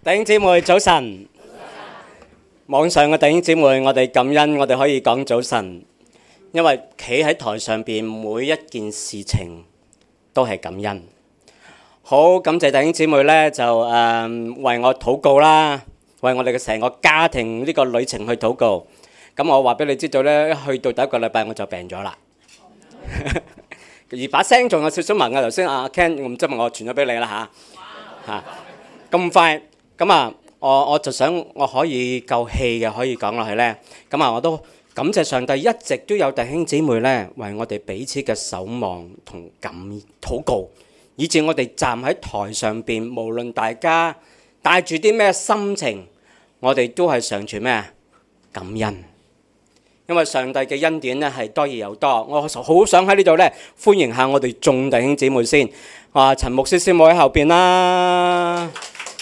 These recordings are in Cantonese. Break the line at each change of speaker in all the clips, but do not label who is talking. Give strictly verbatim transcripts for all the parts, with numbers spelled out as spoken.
弟兄姊妹早晨，網上嘅弟兄姊妹，我哋感恩，我哋可以講早晨，因為企喺台上邊每一件事情都係感恩。好，感謝弟兄姊妹咧，就誒、呃、為我禱告啦，為我哋嘅成個家庭呢個旅程去禱告。咁我話俾你知道咧，去到第一個禮拜我就病咗啦，而把聲仲有少少聞啊。頭先阿 Ken， 我唔知係咪我傳咗俾你啦嚇嚇咁快。咁啊，我我就想我可以夠氣嘅可以講落去咧。咁啊，我都感謝上帝，一直都有弟兄姊妹咧為我哋彼此嘅守望同感禱告，以至我哋站喺台上邊，無論大家帶住啲咩心情，我哋都係常存咩感恩。因為上帝嘅恩典咧係多而又多，我好想喺呢度咧歡迎下我哋眾弟兄姊妹先。啊，陳牧師師母喺後邊啦，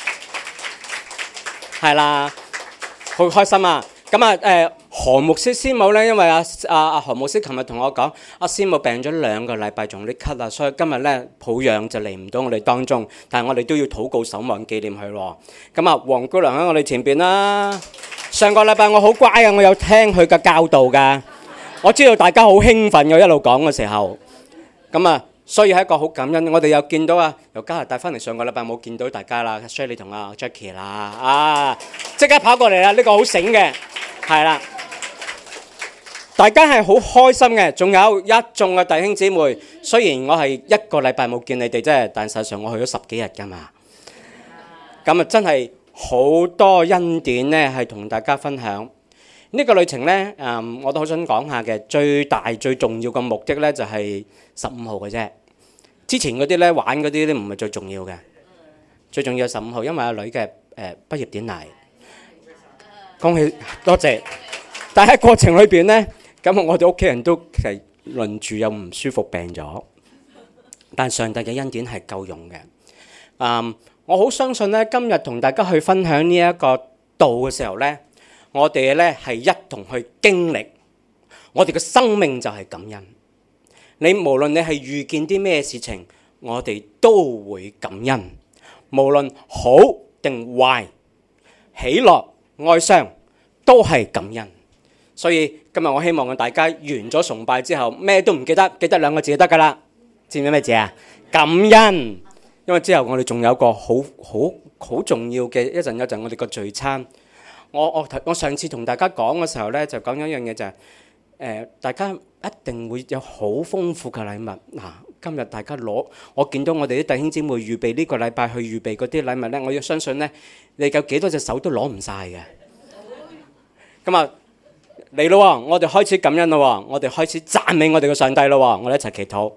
係啦，好開心啊！咁啊誒何牧師師母咧，因為阿阿阿何牧師琴日同我講，阿師母病咗兩個禮拜，仲有啲咳啊，所以今日咧抱恙就嚟唔到我哋當中，但係我哋都要禱告守望紀念佢喎。咁啊，黃姑娘喺我哋前邊啦。上個禮拜我好乖啊，我有聽佢嘅教導㗎，我知道大家好興奮嘅一路講嘅時候，咁啊，所以係一個好感恩。我哋又見到啊，由加拿大翻嚟，上個禮拜冇見到大家啦 ，Shirley 同阿 Jackie 啦，啊，即刻跑過嚟啦，呢個好醒嘅，係啦，大家係好開心嘅。仲有一眾嘅弟兄姊妹，雖然我係一個禮拜冇見你哋啫，但實際上我去咗十幾日㗎嘛，咁啊真係。好多恩典咧，係同大家分享呢個旅程咧。誒，我都好想講下嘅，最大最重要嘅目的咧，就係十五號嘅啫。之前嗰啲咧玩嗰啲咧唔係最重要嘅，最重要係十五號，因為阿女嘅誒畢業典禮。恭喜多謝！但喺過程裏邊咧，咁我哋屋企人都係輪住又唔舒服病咗，但上帝嘅恩典係夠用嘅。誒。我好相信咧，今日同大家去分享呢一個道嘅時候咧，我哋咧係一同去經歷，我哋嘅生命就係感恩。你無論你係遇見啲咩事情，我哋都會感恩，無論好定壞，喜樂哀傷都係感恩。所以今日我希望大家完咗崇拜之後，咩都唔記得，記得兩個字就得㗎啦。知唔知咩字啊？感恩。因為之後我哋仲有個好好好重要嘅一陣一陣我哋個聚餐。我我我上次同大家講嘅時候咧，就講咗一樣嘢就係、是、誒、呃，大家一定會有好豐富嘅禮物。嗱、啊，今日大家攞，我見到我哋啲弟兄姊妹預備呢個禮拜去預備嗰啲禮物咧，我要相信咧，你有幾多隻手都攞唔晒嘅。咁啊嚟咯，我哋開始感恩咯，我哋開始讚美我哋嘅上帝咯，我哋一齊祈禱。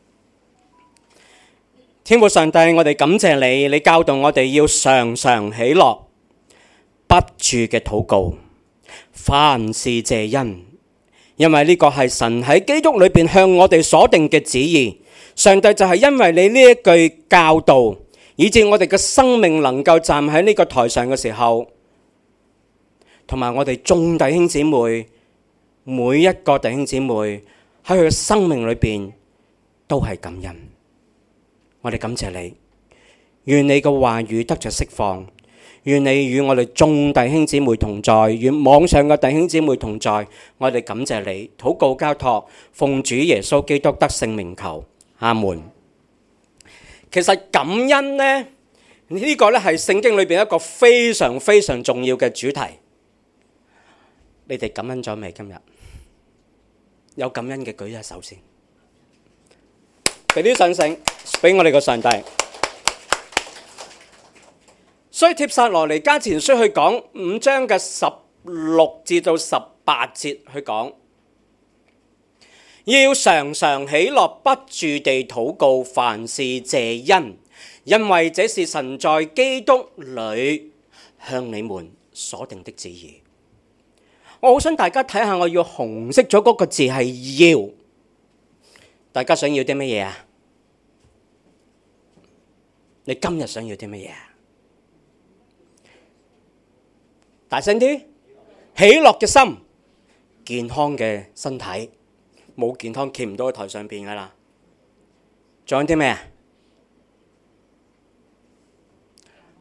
天父上帝，我哋感謝你，你教導我哋要常常喜樂，不住嘅禱告，凡事謝恩，因為呢個係神喺基督裏邊向我哋所定嘅旨意。上帝就係因為你呢一句教導，以致我哋嘅生命能夠站喺呢個台上嘅時候，同埋我哋眾弟兄姊妹，每一個弟兄姊妹喺佢嘅生命裏邊都係感恩。我哋感謝你，願你嘅話語得着釋放，願你與我哋眾弟兄姊妹同在，與網上嘅弟兄姊妹同在。我哋感謝你，禱告交託，奉主耶穌基督得聖名求，阿門。其實感恩呢，呢個咧係聖經裏邊一個非常非常重要嘅主題。你哋感恩咗未？今日有感恩嘅舉一手先。俾啲掌聲俾我哋個上帝。所以帖撒羅尼迦前書去講五章嘅十六至到十八節去講，要常常喜樂，不住地禱告，凡事謝恩，因為這是神在基督裏向你們所定的旨意。我好想大家睇下，我要紅色咗嗰個字係要。大家想要啲乜嘢啊？你今日想要啲乜嘢啊？大聲啲！喜樂嘅心，健康嘅身體，冇健康企唔到喺台上邊噶啦。仲有啲咩啊？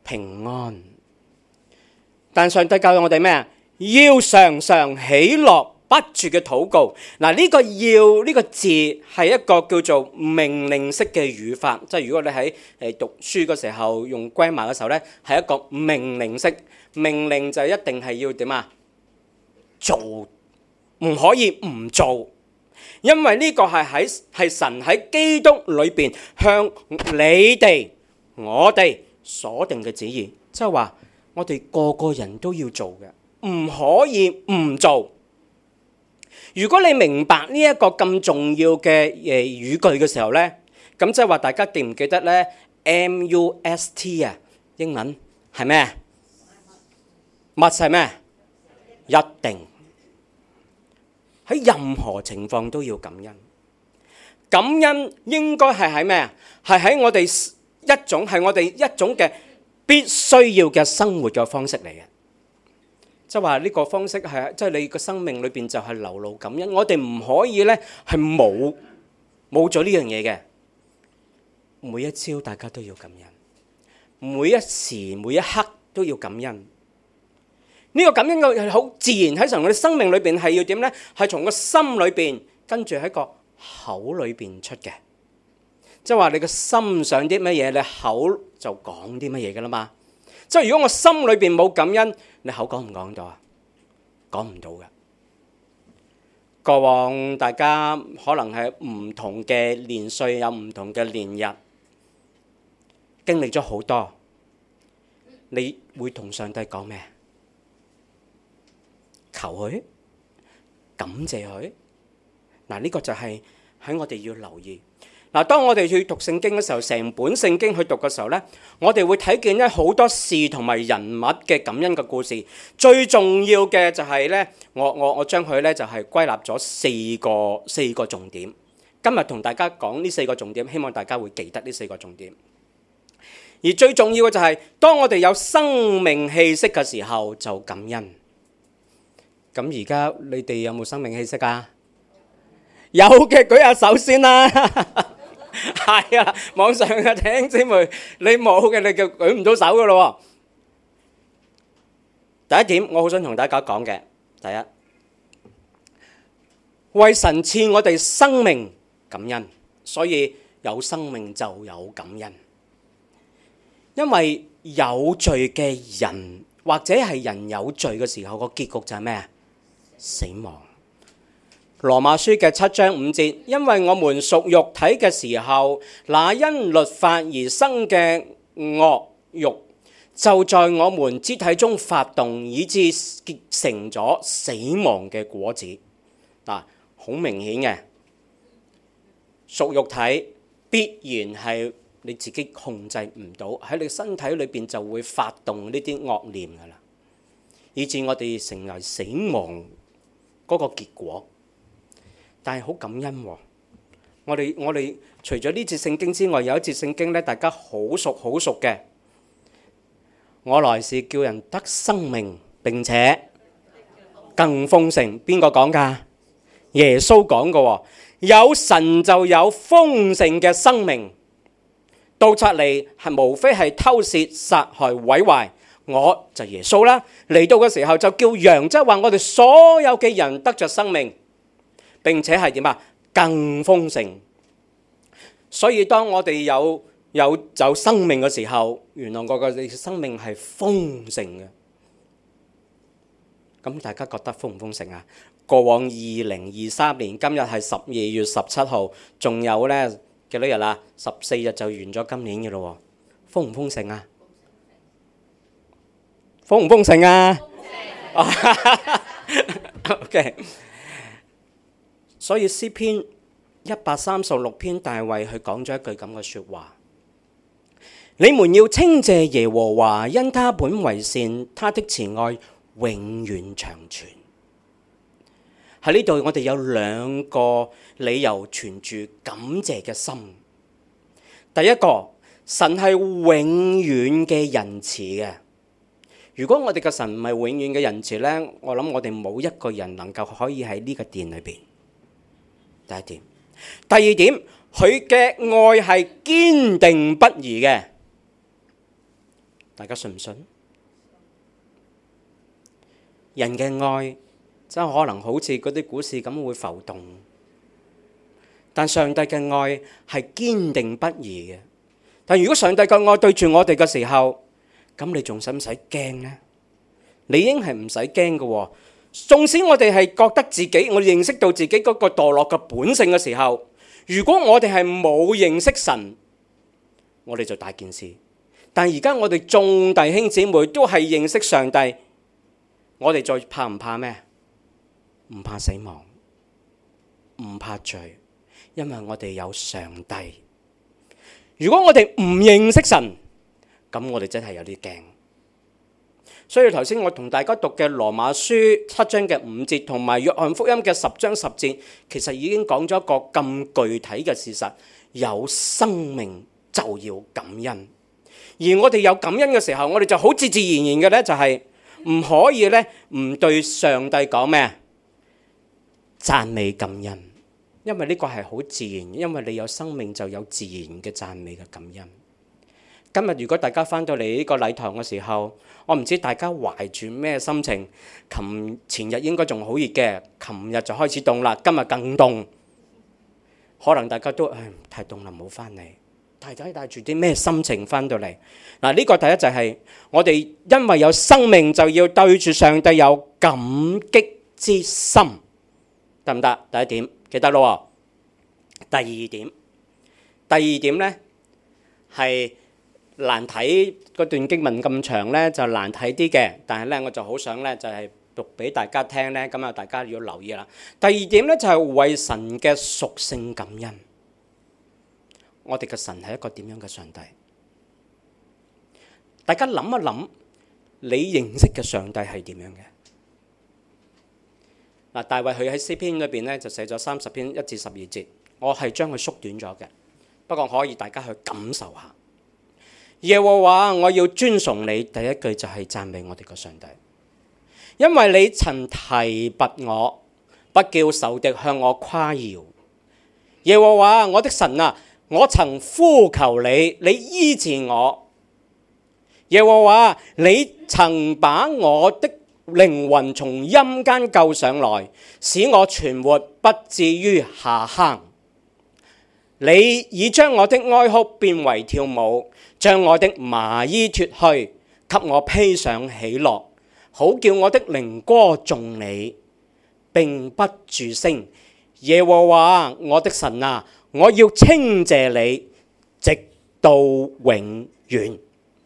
平安。但上帝教我哋咩啊？要常常喜樂，不住嘅禱告。嗱，呢個要呢個字係一個叫做命令式嘅語法，即係如果你喺誒讀書嘅時候用 grammar 嘅時候咧，係一個命令式。命令就一定係要點啊？做，唔可以唔做，因為呢個係喺係神喺基督裏邊向你哋我哋所定嘅旨意，即係話我哋個個人都要做嘅，唔可以唔做。如果你明白呢一個咁重要嘅誒語句嘅時候咧，咁即係話大家記唔記得咧 ？M U S T 啊，英文係咩？must係咩？一定喺任何情況都要感恩。感恩應該係喺咩啊？係喺我哋一種係我哋一種嘅必須要嘅生活嘅方式嚟嘅。即係話呢個方式係即係你個生命裏邊就係流露感恩。我哋唔可以咧係冇冇咗呢樣嘢嘅。每一朝大家都要感恩，每一時每一刻都要感恩。呢個感恩嘅係好自然喺神我哋生命裏邊係要點咧？係從個心裏邊跟住喺個口裏邊出嘅。即係話你個心想啲乜嘢，你口就講啲乜嘢噶啦嘛。即係如果我心裏邊冇感恩，你口講唔講到啊？講唔到嘅。過往大家可能係唔同嘅年歲，有唔同嘅年日，經歷咗好多，你會同上帝講咩？求佢，感謝佢。嗱，呢個就係喺我哋要留意。嗱，當我哋去讀聖經嘅時候，成本聖經去讀嘅時候咧，我哋會睇見咧好多事同埋人物嘅感恩嘅故事。最重要嘅就係咧，我我我將佢咧就係歸納咗四個四個重點。今日同大家講呢四個重點，希望大家會記得呢四個重點。而最重要嘅就係，當我哋有生命氣息嘅時候，就感恩。咁而家你哋有冇生命氣息啊？有嘅舉下手先啦。係啊，網上嘅弟兄姊妹，你冇嘅你就舉唔到手噶咯。第一點，我好想同大家講嘅，第一，為神賜我哋生命感恩，所以有生命就有感恩。因為有罪嘅人或者係人有罪嘅時候，個結局就係咩啊？死亡。羅馬書嘅七章五節，因為我們屬肉體嘅時候，那因律法而生嘅惡慾就在我們肢體中發動，以致結成咗死亡嘅果子。嗱，好明顯嘅，屬肉體必然係你自己控制唔到，喺你身體裏邊就會發動呢啲惡念噶啦，以致我哋成為死亡嗰個結果。但係好感恩喎，我哋我哋除咗呢節聖經之外，有一節聖經咧，大家好熟好熟嘅。我來是叫人得生命並且更豐盛。邊個講㗎？耶穌講嘅喎。有神就有豐盛嘅生命。盜賊嚟係無非係偷竊、殺害、毀壞。我就耶穌啦，嚟到嘅時候就叫羊，即係話我哋所有嘅人得着生命。並且係點啊？更豐盛。所以當我哋有有有生命嘅時候，原來我嘅生命係豐盛嘅。咁大家覺得豐唔豐盛啊？過往二零二三年，今日係十二月十七號，仲有咧幾多日啊？十四日就完咗今年嘅咯喎，豐唔豐盛啊？豐唔豐盛啊？豐盛。OK。所以詩篇一百三十六篇，大衛佢講咗一句咁嘅説話：你們要稱謝耶和華，因他本為善，他的慈愛永遠長存。喺呢度我哋有兩個理由存住感謝嘅心。第一個，神係永遠嘅仁慈嘅。如果我哋嘅神唔係永遠嘅仁慈呢，我諗我哋冇一個人能夠可以喺呢個殿裏邊。第一點，第二點，佢嘅愛係堅定不移嘅， 大家信唔信？人嘅愛真係可能好似嗰啲股市咁會浮動，但上帝嘅愛係堅定不移嘅。但如果上帝嘅愛對住我哋嘅時候，咁你仲使唔使驚呢？你應係唔使驚嘅。縱使我哋係覺得自己，我哋認識到自己嗰個墮落嘅本性嘅時候，如果我哋係冇認識神，我哋就大件事。但而家我哋眾弟兄姊妹都係認識上帝，我哋再怕唔怕咩？唔怕死亡，唔怕罪，因為我哋有上帝。如果我哋唔認識神，咁我哋真係有啲驚。所以頭先我同大家讀嘅羅馬書七章嘅五節，同埋約翰福音嘅十章十節，其實已經講咗一個咁具體嘅事實：有生命就要感恩。而我哋有感恩嘅時候，我哋就好自自然然嘅咧，就係唔可以咧唔對上帝講咩？讚美感恩，因為呢個係好自然，因為你有生命就有自然嘅讚美嘅感恩。今日如果大家翻到嚟呢個禮堂嘅時候，我唔知大家懷住咩心情。琴前日應該仲好熱嘅，琴日就開始凍啦，今日更凍。可能大家都唉太凍啦，唔好翻嚟。大家帶住啲咩心情翻到嚟？嗱，呢個第一就係我哋因為有生命就要對住上帝有感激之心，得唔得？第一點記得咯。第二點，第二點呢係難睇，嗰段經文咁長呢就難睇啲嘅，但係呢我就好想呢就係讀俾大家聽呢，咁啊大家要留意啦。第二點呢就係為神嘅屬性感恩。我哋嘅神係一個點樣嘅上帝？大家諗一諗，你認識嘅上帝係點樣嘅？嗱，大衛佢喺詩篇裏邊咧就寫咗三十篇一至十二節，我係將佢縮短咗嘅，不過可以大家去感受下。耶和華，我要尊崇你，第一句就係讚美我哋嘅上帝，因為你曾提拔我，不叫仇敵向我誇耀。耶和華，我的神啊！我曾呼求你，你醫治我。耶和華，你曾把我的靈魂從陰間救上來，使我存活，不至於下坑。你已將我的哀哭變為跳舞，將我的麻衣脫去，給我披上喜樂，好叫我的靈歌頌你，並不住聲。耶和華，我的神啊！我要稱謝你，直到永遠。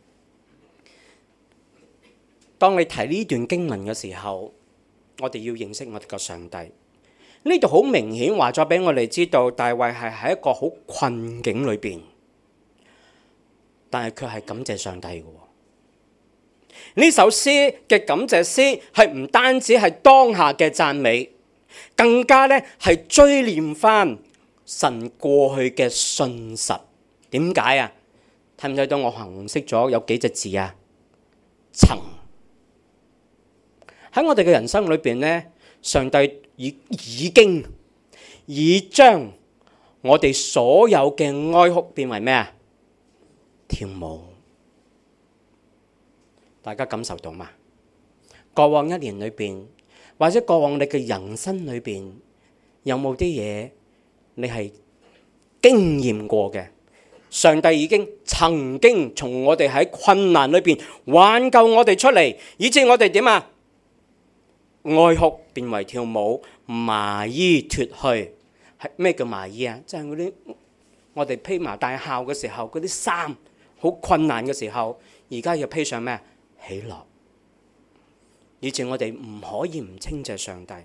當你睇呢段經文嘅時候，我哋要認識我哋個上帝。呢度好明顯話咗俾我哋知道，大衛係喺一個好困境裏邊，但係佢係感謝上帝嘅。呢首詩嘅感謝詩係唔單止係當下嘅讚美，更加咧係追念翻神過去嘅信實。點解啊？睇唔睇到我紅色咗有幾隻字啊？曾。喺我哋嘅人生裏邊呢，上帝已已經已將我哋所有嘅哀哭變為咩啊？跳舞。大家感受到嘛？過往一年裏邊，或者過往你嘅人生裏邊，有冇啲嘢你係經驗過嘅？上帝已經曾經從我哋喺困難裏邊挽救我哋出嚟，以致我哋點啊？哀哭變為跳舞，麻衣脫去。係咩叫麻衣啊？即係嗰啲我哋披麻戴孝嘅時候，嗰啲衫好困難嘅時候，而家要披上咩？喜樂。以致我哋唔可以唔稱謝上帝。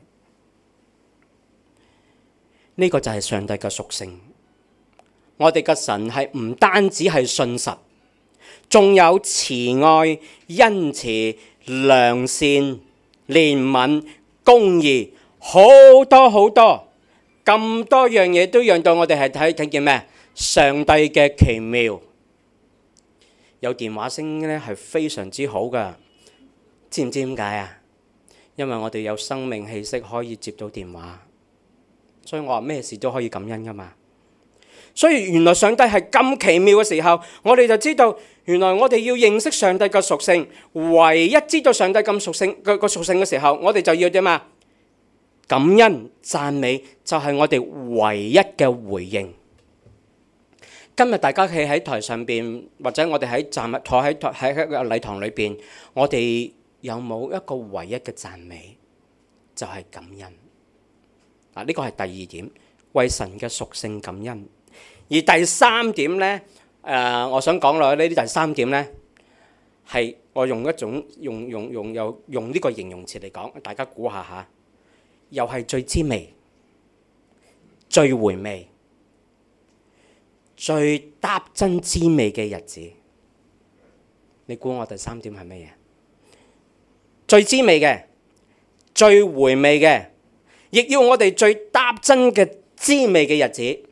呢個就係上帝嘅屬性。我哋嘅神係唔單止係信實，仲有慈愛、恩慈、良善、憐憫、公義，好多好多，咁多樣嘢都讓到我哋係睇睇見咩？上帝嘅奇妙。有電話聲咧係非常之好噶，知唔知點解啊？因為我哋有生命氣息可以接到電話，所以我話咩事都可以感恩噶嘛。所以原來上帝係咁奇妙嘅時候，我哋就知道原來我哋要認識上帝嘅屬性，唯一知道上帝咁屬性個個屬性嘅時候，我哋就要點啊？感恩讚美就係我哋唯一嘅回應。今日大家企喺台上邊，或者我哋喺站坐喺喺喺個禮堂裏邊，我哋有冇一個唯一嘅讚美？就係感恩。嗱，呢個係第二點，為神嘅屬性感恩。而第三點呢，誒、呃，我想講落去呢啲第三點呢，係我用一種用用用又用呢個形容詞嚟講，大家估下嚇，又係最滋味、最回味、最搭真滋味嘅日子。你估我第三點係乜嘢？最滋味嘅、最回味嘅，亦要我哋最搭真嘅滋味嘅日子。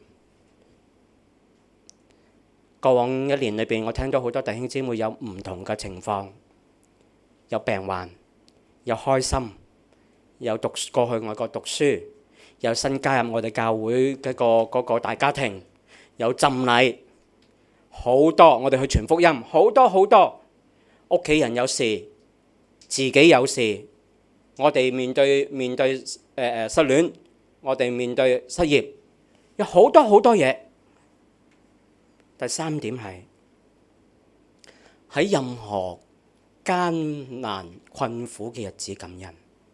過往一年裏邊，我聽到好多弟兄姊妹有唔同嘅情況，有病患，有開心，有讀過去外國讀書，有新加入我哋教會嘅個嗰個大家庭，有浸禮，好多我哋去傳福音，好多好多屋企人有事，自己有事，我哋面對面對誒誒失戀，我哋面對失業，有好多好多嘢。第三點係喺任何艱難困苦嘅日子感恩。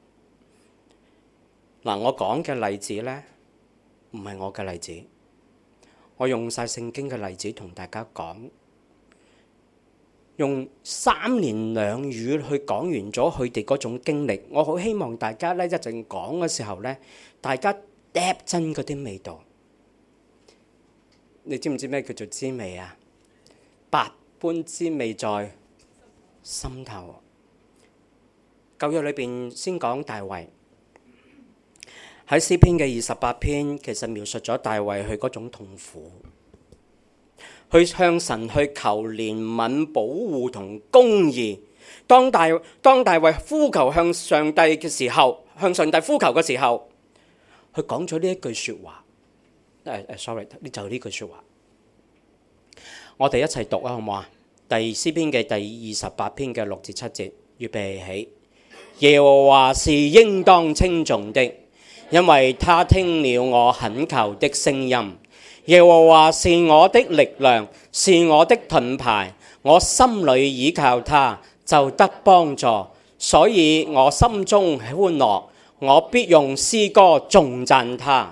嗱，我講嘅例子呢，唔係我嘅例子，我用晒聖經嘅例子同大家講，用三言兩語去講完咗佢哋嗰種經歷。我好希望大家呢一陣講嘅時候呢，大家嗒真嗰啲味道。你知唔知咩叫做滋味啊？百般滋味在心頭。舊約裏邊先講大衛，喺詩篇嘅二十八篇，其實描述咗大衛佢嗰種痛苦，去向神去求憐憫、保護同公義。當大當大衛呼求向上帝嘅時候，向上帝呼求嘅時候，佢講咗呢一句説話。誒誒，sorry，呢就呢句説話，我哋一齊讀啊，好唔好啊？第詩篇嘅第二十八篇嘅六至七節，預備起。耶和華是應當稱頌的，因為他聽了我懇求的聲音。耶和華是我的力量，是我的盾牌，我心裏倚靠他，就得幫助，所以我心中歡樂，我必用詩歌頌讚他。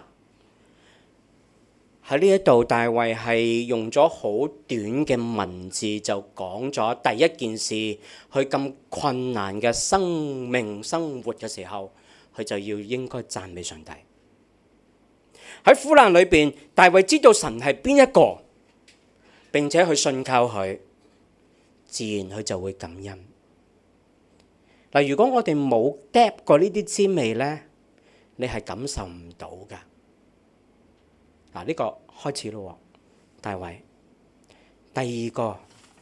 喺呢一度，大衛係用咗好短嘅文字就講咗第一件事，佢咁困難嘅生命生活嘅時候，佢就要應該讚美上帝。喺苦難裏邊，大衛知道神係邊一個，並且去信靠佢，自然佢就會感恩。嗱，如果我哋冇嗒過呢啲滋味呢，你係感受唔到㗎。嗱，呢個開始咯，大衛。第二個，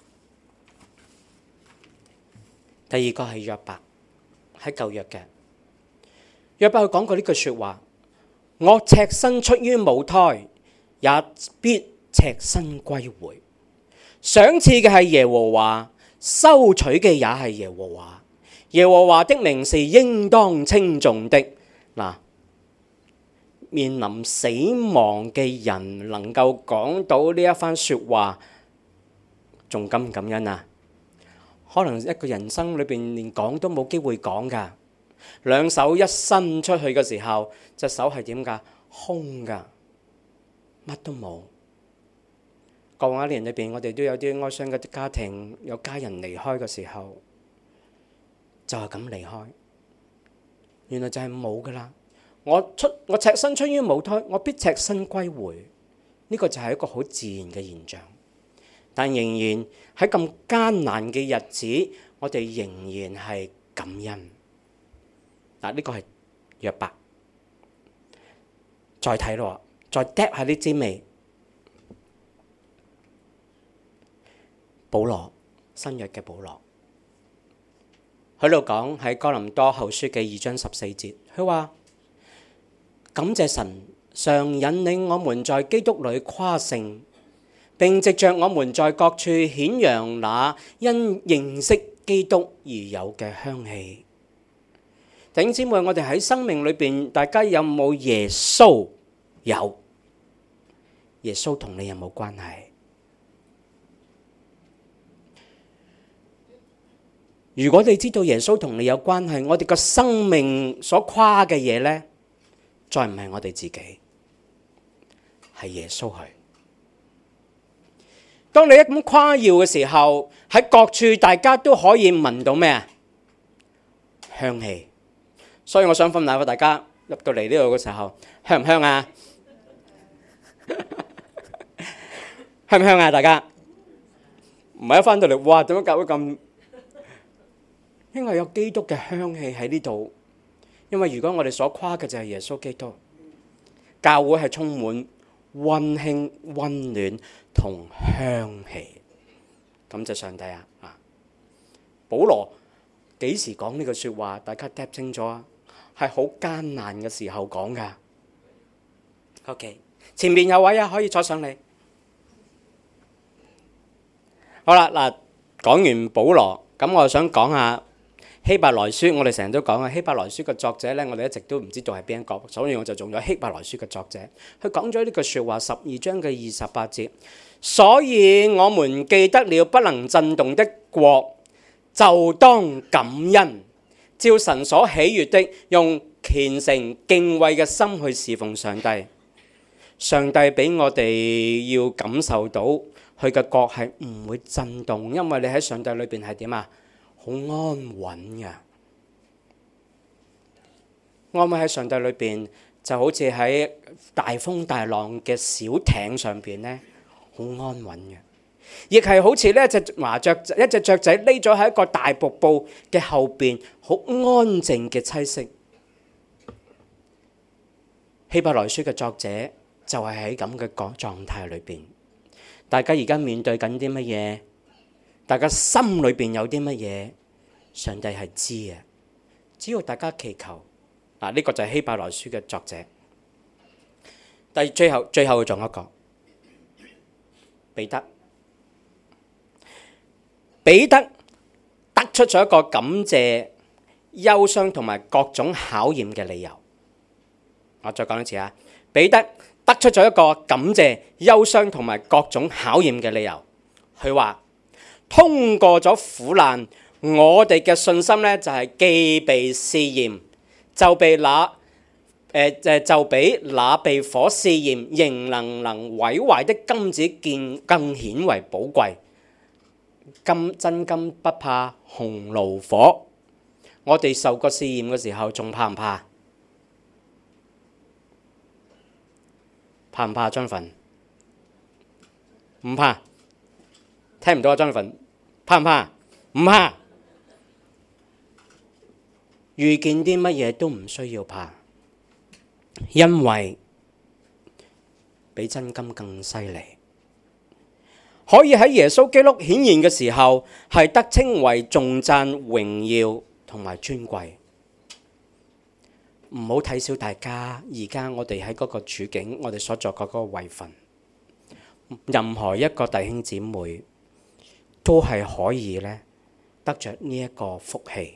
第二個係約伯，喺舊約嘅約伯，佢講過呢句説話：我赤身出於母胎，也必赤身歸回。賞賜嘅係耶和華，收取嘅也係耶和華。耶和華的名是應當稱頌的。嗱，面臨死亡嘅人能夠講到呢一番説話，仲感唔感恩啊？可能一個人生裏邊連講都冇機會講㗎。兩手一伸出去嘅時候，隻手係點㗎？空㗎，乜都冇。過往一年裏邊，我哋都有啲哀傷嘅家庭，有家人離開嘅時候，就係咁離開。原來就係冇㗎啦。我出我赤身出於母胎，我必赤身歸回。呢個就係一個好自然嘅現象。但仍然喺咁艱難嘅日子，我哋仍然係感恩。嗱，呢個係約伯。再睇咯，再嗒下啲滋味。保羅，新約嘅保羅，喺度講喺哥林多後書嘅二章十四節，佢話：感謝神，常引領我們在基督裏誇勝， 並藉着我們在各處顯揚那因認識基督而有嘅香氣。弟兄姊妹，我哋喺生命裏邊，大家有冇耶穌？有。耶穌同你有冇關係？如果你知道耶穌同你有關係，我哋個生命所誇嘅嘢呢，再唔係我哋自己，係耶穌去。當你一咁誇耀嘅時候，喺各處大家都可以聞到咩啊？香氣。所以我想分享俾大家，入到嚟呢度嘅時候，香唔香啊？香唔香啊？大家唔係一翻到嚟，哇！點解教會咁？因為有基督嘅香氣喺呢度。因為如果我哋所誇嘅就係耶穌基督，教會係充滿溫馨、溫暖同香氣。感謝上帝啊！啊，保羅幾時講呢句説話？大家聽清楚啊！係好艱難嘅時候講噶。OK， 前面有位啊，可以坐上嚟。好啦，嗱，講完保羅，咁我想講下希伯來書。我哋成日都講啊，希伯來書嘅作者呢，我哋一直都唔知道係邊一個，所以我就用咗希伯來書嘅作者。佢講咗呢句説話，十二章嘅二十八節。所以我們記得了不能震動的國，就當感恩，照神所喜悅的，用虔誠敬畏嘅心去侍奉上帝。上帝俾我哋要感受到佢嘅國係唔會震動，因為你喺上帝裏邊係點啊？好安穩嘅。安穩喺上帝裏邊就好似喺大風大浪嘅小艇上邊呢，好安穩嘅。亦係好似呢一隻麻雀，一隻雀仔匿咗喺一個大瀑布嘅後邊，好安靜嘅棲息。希伯來書嘅作者就係喺咁嘅個狀態裏邊。大家而家面對緊啲乜嘢？大家心裏邊有啲乜嘢？上帝係知嘅，只要大家祈求。嗱，呢個就係希伯來書嘅作者。但係最後最後仲有一個彼得。彼得得出咗一個感謝、憂傷同埋各種考驗嘅理由。我再講一次啊，彼得得出咗一個感謝、憂傷同埋各種考驗嘅理由。佢話通過咗苦難，我哋嘅信心呢，就係既被試驗，就被那誒誒就比那被火試驗仍能能毀壞的金子見更顯為寶貴。金真金不怕紅爐火。我哋受過試驗嘅時候，仲怕唔怕？怕唔怕？Jonathan？唔怕。聽唔到啊，Jonathan？怕唔怕？唔怕。遇見啲乜嘢都唔需要怕，因為比真金更犀利。可以喺耶穌基督顯現嘅時候，係得稱為頌讚、榮耀同埋尊貴。唔好睇小大家，而家我哋喺嗰個處境，我哋所作嘅嗰個位份，任何一個弟兄姊妹都係可以咧得着呢一個福氣。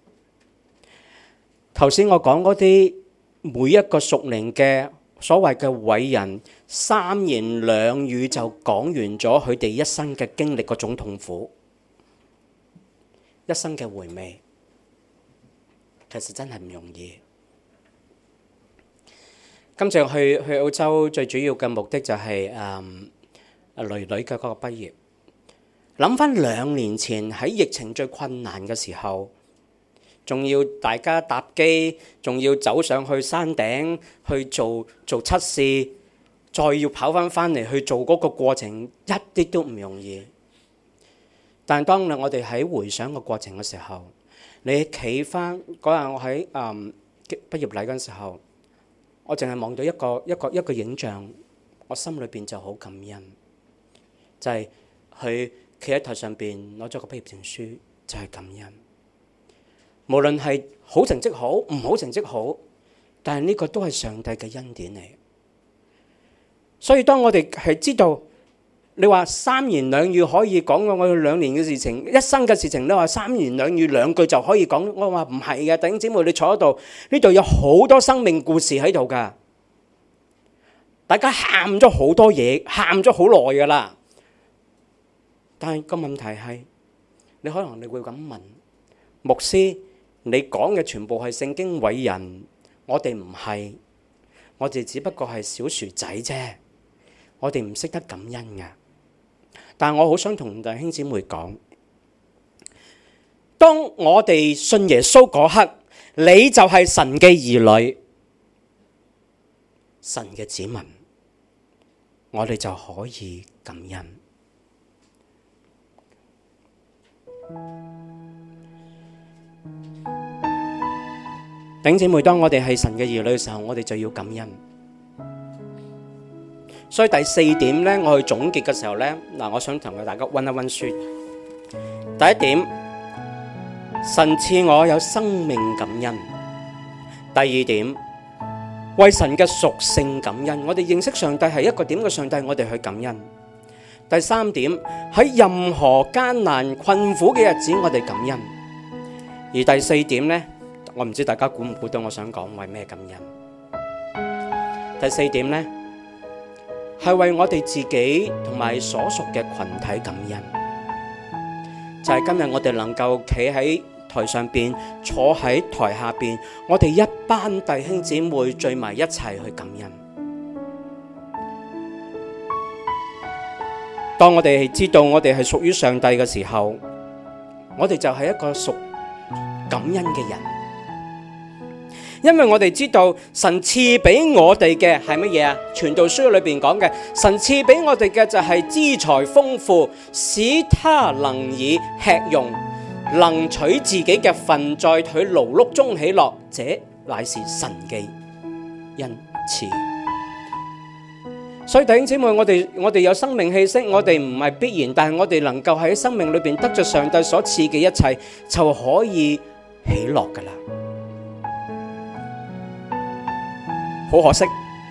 頭先我講嗰啲每一個屬靈嘅所謂嘅偉人，三言兩語就講完咗佢哋一生嘅經歷嗰種痛苦，一生嘅回味，其實真係唔容易。今次去去澳洲最主要嘅目的就係誒女女嘅嗰個畢業。諗翻兩年前喺疫情最困難嘅時候，仲要大家搭機，仲要走上去山頂去做做測試，再要跑翻翻嚟去做嗰個過程，一啲都唔容易。但係當我哋喺回想個過程嘅時候，你企翻嗰日我喺誒畢業禮嗰陣時候，我淨係望到一個一個一個影像，我心裏邊就好感恩，就係佢企喺台上邊攞咗個畢業證書，就係感恩。無論係好成績好，唔好成績好，但係呢個都係上帝嘅恩典嚟。所以當我哋係知道你話三言兩語可以講我哋兩年嘅事情，一生嘅事情，你話三言兩語兩句就可以講？我話唔係嘅，弟兄姊妹，你坐喺度，呢度有好多生命故事喺度噶，大家喊咗好多嘢，喊咗好耐噶啦。但係個問題係，你可能你會咁問，牧師，你講嘅全部係聖經偉人，我哋唔係，我哋只不過係小薯仔啫，我哋唔識得感恩㗎。但係我好想同弟兄姊妹講，當我哋信耶穌嗰刻，你就係神嘅兒女，神嘅子民，我哋就可以感恩。弟兄姊妹，當我哋係神嘅兒女嘅時候，我哋就要感恩。所以第四點咧，我去總結嘅時候咧，嗱，我想同大家溫一溫書。第一點，神賜我有生命感恩。第二點，為神嘅屬性感恩。我哋認識上帝係一個點嘅上帝，我哋去感恩。第三點，喺任何艱難困苦嘅日子，我哋感恩。而第四點咧，我唔知大家估唔估到我想講為咩感恩。第四點咧，係為我哋自己同埋所屬嘅群體感恩，就係今日我哋能夠企喺台上邊，坐喺台下邊，我哋一班弟兄姊妹聚埋一齊去感恩。當我哋知道我哋係屬於上帝嘅時候，我哋就係一個屬感恩嘅人。因為我哋知道神賜俾我哋嘅係乜嘢啊？傳道書裏邊講嘅，神賜俾我哋嘅就係資財豐富，使他能以吃用，能取自己嘅份，在佢勞碌中喜樂，這乃是神嘅恩賜。所以弟兄姊妹，我哋我哋有生命氣息，我哋唔係必然，但係我哋能夠喺生命裏邊得着上帝所賜嘅一切，就可以喜樂噶啦。好可惜，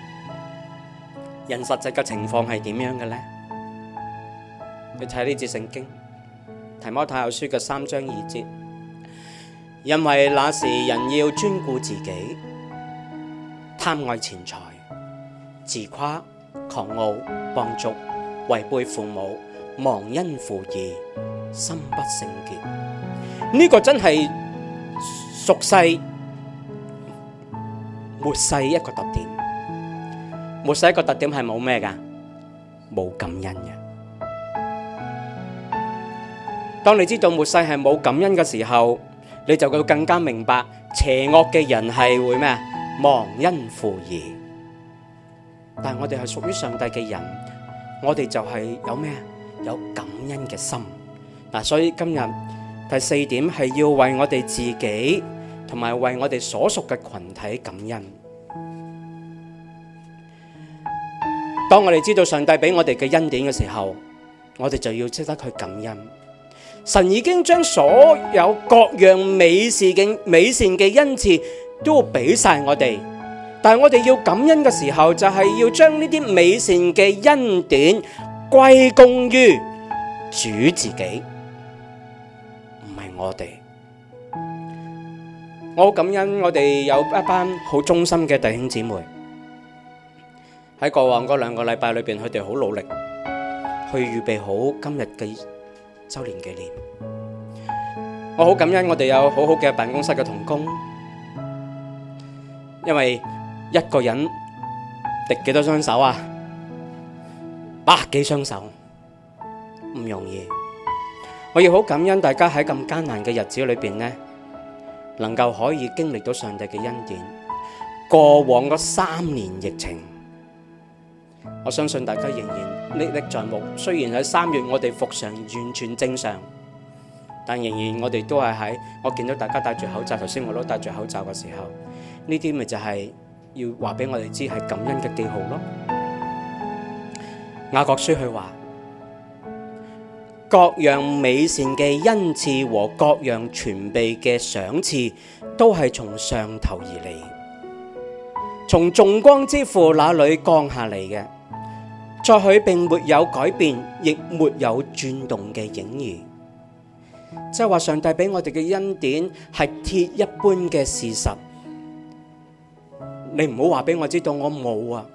人實際嘅情況係點樣嘅呢？你睇呢節聖經，提摩太後書嘅三章二節，因為那時人要專顧自己，貪愛錢財，自誇、狂傲、放逐，違背父母，忘恩負義，心不聖潔。呢、這個真係俗世末世一個特點。末世一個特點係冇咩噶，冇感恩嘅。當你知道末世係冇感恩嘅時候，你就會更加明白邪惡嘅人係會咩啊？忘恩負義。但係我哋係屬於上帝嘅人，我哋就係有咩啊？有感恩嘅心。嗱，所以今日第四點係要為我哋自己同埋為我哋所屬嘅群體感恩。當我哋知道上帝俾我哋嘅恩典嘅時候，我哋就要識得去感恩。神已經將所有各樣美善嘅美善嘅恩賜都俾晒我哋，但係我哋要感恩嘅時候，就係要將呢啲美善嘅恩典歸功於主自己，唔係我哋。我好感恩我哋有一班好忠心嘅弟兄姊妹，喺過往嗰兩個禮拜裏邊，佢哋好努力去預備好今日嘅周年紀念。我好感恩我哋有好好嘅辦公室嘅同工，因為一個人敵幾多雙手啊？百幾雙手，唔容易。我要好感恩大家喺咁艱難嘅日子裏邊呢，能夠可以經歷到上帝嘅恩典。過往嗰三年疫情，我相信大家仍然歷歷在目。雖然喺三月我哋復常完全正常，但仍然我哋都係喺我見到大家戴住口罩，頭先我都戴住口罩嘅時候，呢啲咪就係要話俾我哋知係感恩嘅記號咯。雅各書佢話，各樣美善嘅恩賜和各樣全備嘅賞賜，都係從上頭而嚟，從眾光之父那裏降下嚟嘅。 在佢並沒有改變，亦沒有轉動嘅影兒。即係話上帝俾我哋嘅恩典係鐵一般嘅事實。你唔好話俾我知道我冇啊！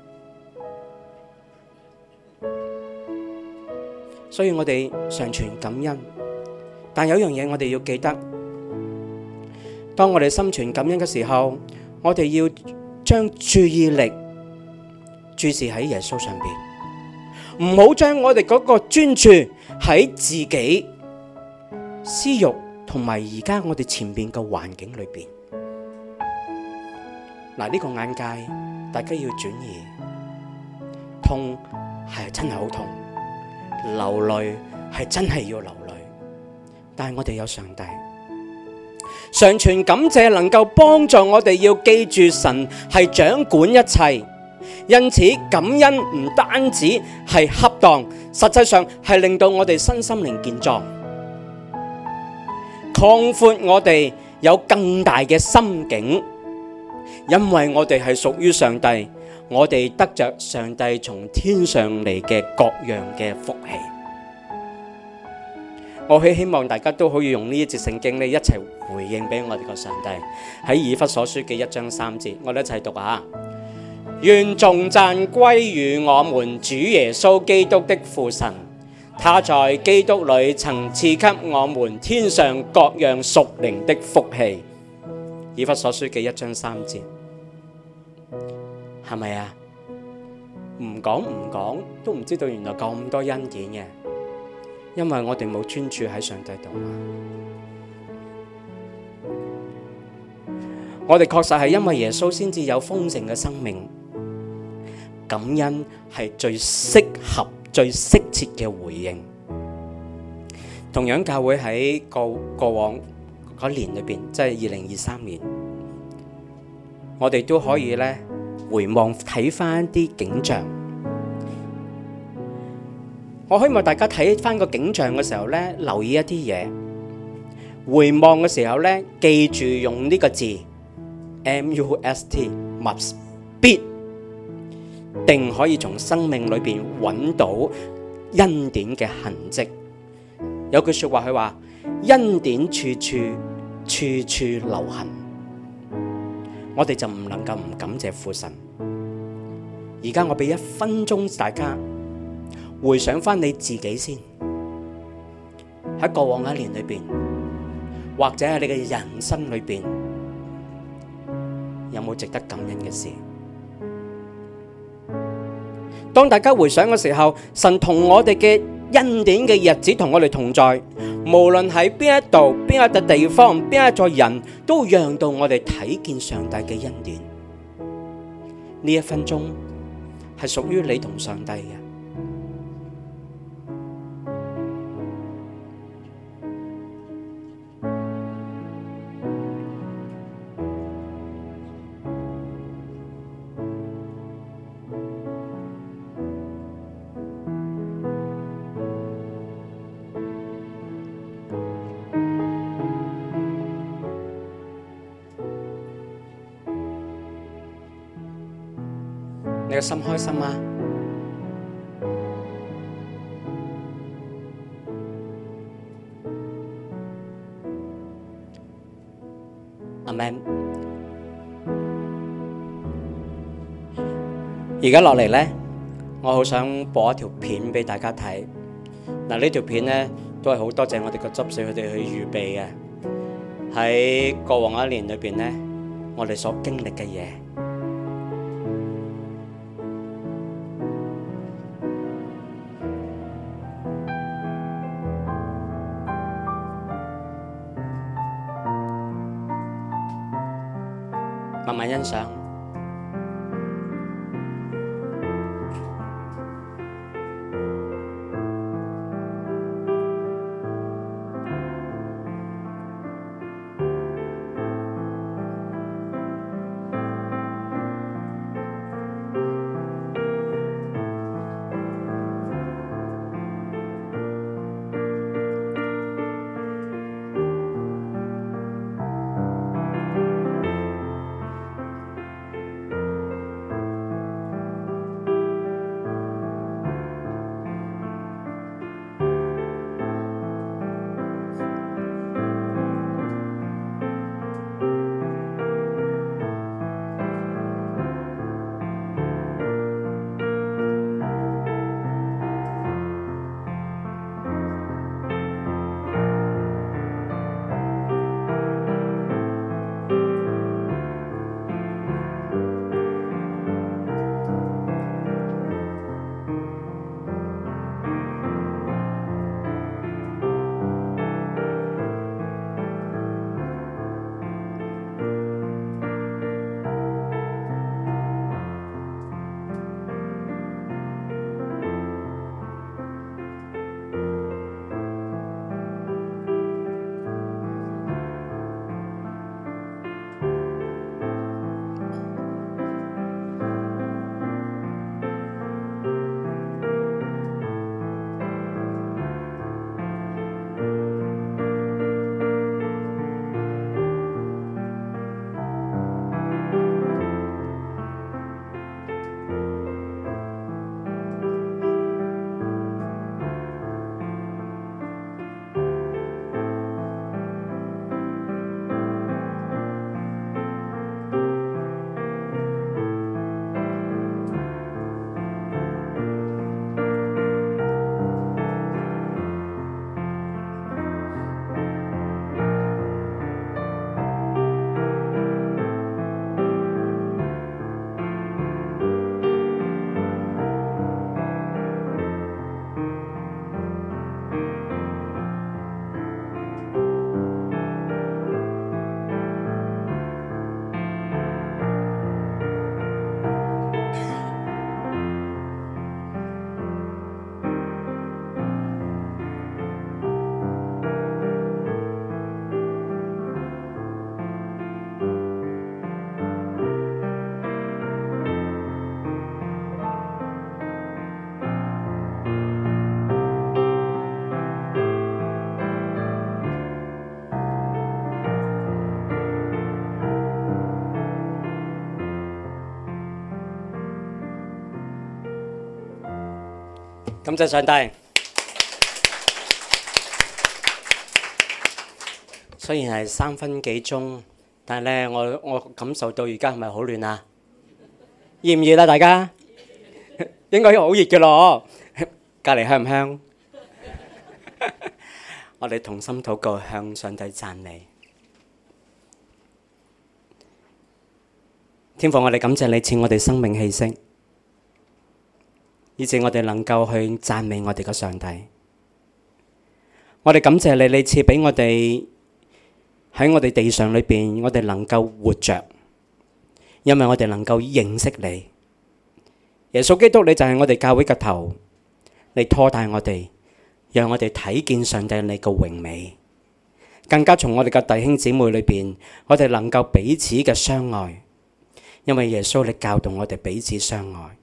所以我哋常存感恩，但有一樣嘢我哋要記得，當我哋心存感恩嘅時候，我哋要將注意力注視喺耶穌上邊，唔好將我哋嗰個專注喺自己私欲同埋而家我哋前面嘅環境裏邊。嗱，呢個眼界大家要轉移，痛係真係好痛，流淚係真係要流淚，但係我哋有上帝，常存感謝能夠幫助我哋要記住神係掌管一切，因此感恩唔單止係恰當，實際上係令到我哋身心靈健壯，擴闊我哋有更大嘅心境。因為我哋係屬於上帝，我哋得着上帝從天上嚟嘅各樣嘅福氣。我希希望大家都可以用呢一節聖經咧，一齊回應俾我哋個上帝。喺以弗所書嘅一章三節，我哋一齊讀下：願頌讚歸於我們主耶穌基督的父神，他在基督裏曾賜給我們天上各樣屬靈的福氣。以弗所書嘅一章三節，係咪啊？唔講唔講都唔知道原來咁多恩典嘅，因為我哋冇專注喺上帝度嘛。我哋確實係因為耶穌先至有豐盛嘅生命，感恩係最適合、最適切嘅回應。同樣教會喺過過往嗰年裏邊，即係二零二三年，我哋都可以咧回望睇翻啲景象。我希望大家睇翻個景象嘅時候咧，留意一啲嘢。回望嘅時候咧，記住用呢個字 M U S T must， 必定可以從生命裏邊揾到恩典嘅痕跡。有句說話佢話：恩典處處處處留痕。我哋就唔能夠唔感謝父神。而家我俾一分鐘大家回想翻你自己先，喺過往一年裏邊，或者係你嘅人生裏邊，有冇值得感恩嘅事？當大家回想嘅時候，神同我哋嘅恩典嘅日子同我哋同在，無論喺邊一度、邊一笪地方、邊一座人，都讓到我哋睇見上帝嘅恩典。呢一分鐘係屬於你同上帝嘅。你個心開心嗎？阿們。而家落嚟呢，我好想播一條片俾大家睇。嗱，呢條片呢都係好多謝我哋個執事佢哋去預備嘅。喺過往一年裏邊呢，我哋所經歷嘅嘢。慢慢欣賞。 感謝上帝。雖然係三分幾鐘，但係咧，我我感受到而家係咪好暖啊？熱唔熱啊？大家應該好熱嘅咯，隔離香唔香？我哋同心禱告，向上帝讚美。天父，我哋感謝你賜我哋生命氣息，以致我哋能夠去讚美我哋嘅上帝。我哋感謝你，你賜俾我哋喺我哋地上裏邊，我哋能夠活着，因為我哋能夠認識你。耶穌基督，你就係我哋教會嘅頭，你拖帶我哋，讓我哋睇見上帝你嘅榮美，更加從我哋嘅弟兄姊妹裏邊，我哋能夠彼此嘅相愛，因為耶穌你教導我哋彼此相愛。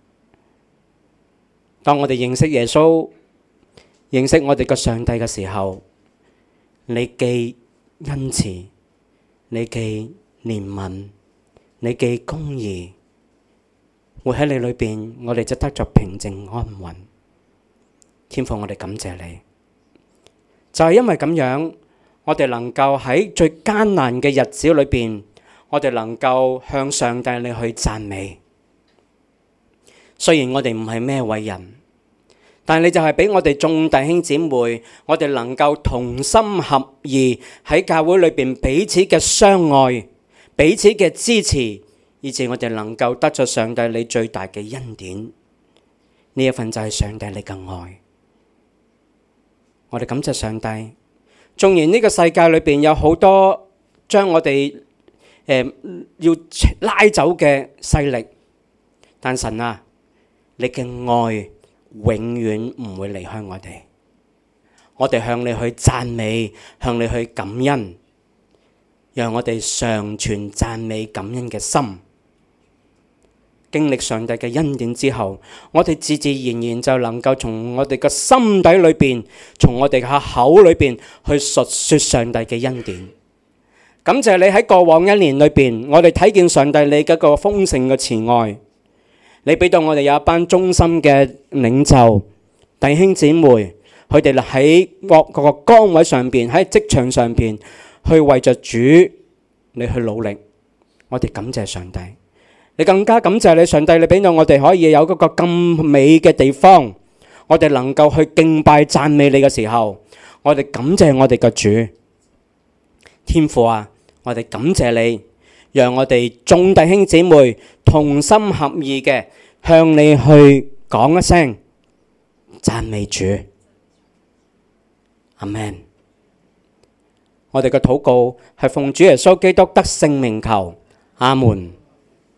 當我哋認識耶穌、認識我哋嘅上帝嘅時候，你既恩慈，你既憐憫，你既公義，活喺你裏邊，我哋就得着平靜安穩。天父，我哋感謝你，就係因為咁樣，我哋能夠喺最艱難嘅日子裏邊，我哋能夠向上帝你去讚美。雖然我哋唔係咩偉人，但係你就係俾我哋眾弟兄姊妹，我哋能夠同心合意喺教會裏邊彼此嘅相愛，彼此嘅支持，以致我哋能夠得着上帝你最大嘅恩典。呢一份就係上帝你嘅愛。我哋感謝上帝。縱然呢個世界裏邊有好多將我哋誒、呃、要拉走嘅勢力，但神啊，你嘅愛永遠唔會離開我哋。我哋向你去讚美，向你去感恩，讓我哋常存讚美感恩嘅心。經歷上帝嘅恩典之後，我哋自自然然就能夠從我哋嘅心底裏邊，從我哋嘅口裏邊去述說上帝嘅恩典。感謝你喺過往一年裏邊，我哋睇見上帝你嗰個豐盛嘅慈愛。你俾到我哋有一班忠心嘅領袖弟兄姊妹，佢哋喺各個崗位上邊，喺職場上邊去為着主你去努力。我哋感謝上帝。你更加感謝你上帝，你俾到我哋可以有嗰個咁美嘅地方，我哋能夠去敬拜讚美你嘅時候，我哋感謝我哋嘅主。天父啊，我哋感謝你，讓我哋眾弟兄姊妹同心合意嘅向你去講一聲讚美主。阿們。我哋嘅禱告係奉主耶穌基督得聖名求，阿門。